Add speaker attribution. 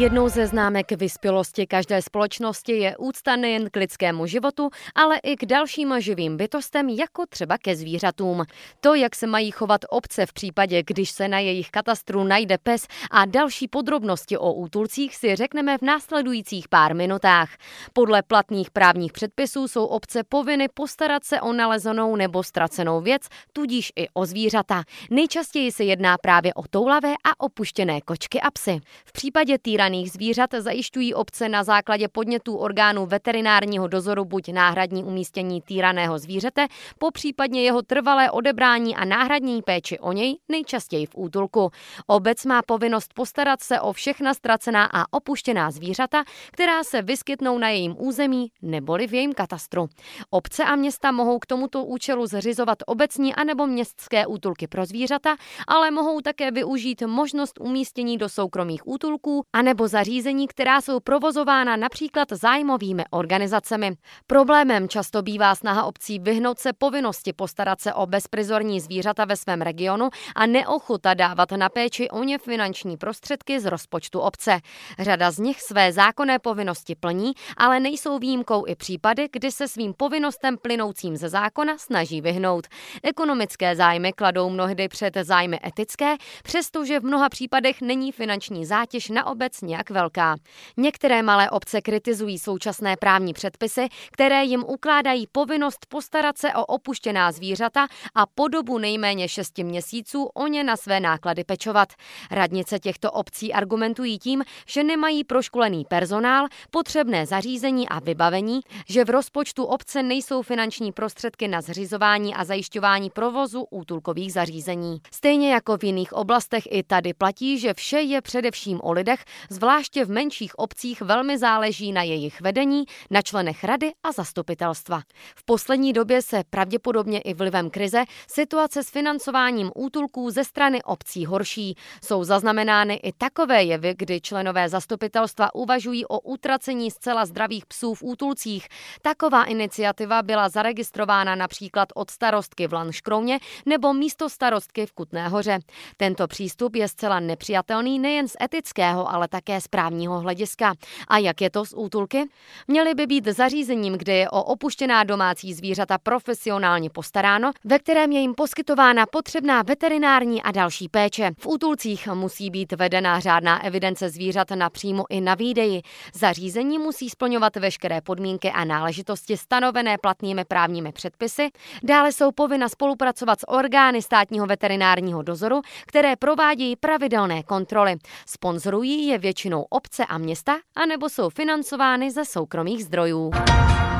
Speaker 1: Jednou ze známek vyspělosti každé společnosti je úcta nejen k lidskému životu, ale i k dalším živým bytostem, jako třeba ke zvířatům. To, jak se mají chovat obce v případě, když se na jejich katastru najde pes, a další podrobnosti o útulcích si řekneme v následujících pár minutách. Podle platných právních předpisů jsou obce povinny postarat se o nalezenou nebo ztracenou věc, tudíž i o zvířata. Nejčastěji se jedná právě o toulavé a opuštěné kočky a psy. V případě týraných zvířat zajišťují obce na základě podnětů orgánů veterinárního dozoru buď náhradní umístění týraného zvířete, popřípadně jeho trvalé odebrání a náhradní péči o něj, nejčastěji v útulku. Obec má povinnost postarat se o všechna ztracená a opuštěná zvířata, která se vyskytnou na jejím území neboli v jejím katastru. Obce a města mohou k tomuto účelu zřizovat obecní anebo městské útulky pro zvířata, ale mohou také využít možnost umístění do soukromých útulků anebo zařízení, která jsou provozována například zájmovými organizacemi. Problémem často bývá snaha obcí vyhnout se povinnosti postarat se o bezprizorní zvířata ve svém regionu a neochota dávat na péči o ně finanční prostředky z rozpočtu obce. Řada z nich své zákonné povinnosti plní, ale nejsou výjimkou i případy, kdy se svým povinnostem plynoucím ze zákona snaží vyhnout. Ekonomické zájmy kladou mnohdy před zájmy etické, přestože v mnoha případech není finanční zátěž na obec nějak velká. Některé malé obce kritizují současné právní předpisy, které jim ukládají povinnost postarat se o opuštěná zvířata a po dobu nejméně 6 měsíců o ně na své náklady pečovat. Radnice těchto obcí argumentují tím, že nemají proškolený personál, potřebné zařízení a vybavení, že v rozpočtu obce nejsou finanční prostředky na zřizování a zajišťování provozu útulkových zařízení. Stejně jako v jiných oblastech i tady platí, že vše je především o lidech, zvláště v menších obcích velmi záleží na jejich vedení, na členech rady a zastupitelstva. V poslední době se pravděpodobně i vlivem krize situace s financováním útulků ze strany obcí horší. Jsou zaznamenány i takové jevy, kdy členové zastupitelstva uvažují o utracení zcela zdravých psů v útulcích. Taková iniciativa byla zaregistrována například od starostky v Lanškrouně nebo místostarostky v Kutné Hoře. Tento přístup je zcela nepřijatelný nejen z etického, ale také z právního hlediska. A jak je to s útulky? Měly by být zařízením, kde je o opuštěná domácí zvířata profesionálně postaráno, ve kterém je jim poskytována potřebná veterinární a další péče. V útulcích musí být vedena řádná evidence zvířat na příjmu i na výdeji. Zařízení musí splňovat veškeré podmínky a náležitosti stanovené platnými právními předpisy. Dále jsou povinna spolupracovat s orgány státního veterinárního dozoru, které provádějí pravidelné kontroly. Sponzorují je většinou obce a města, anebo jsou financovány ze soukromých zdrojů.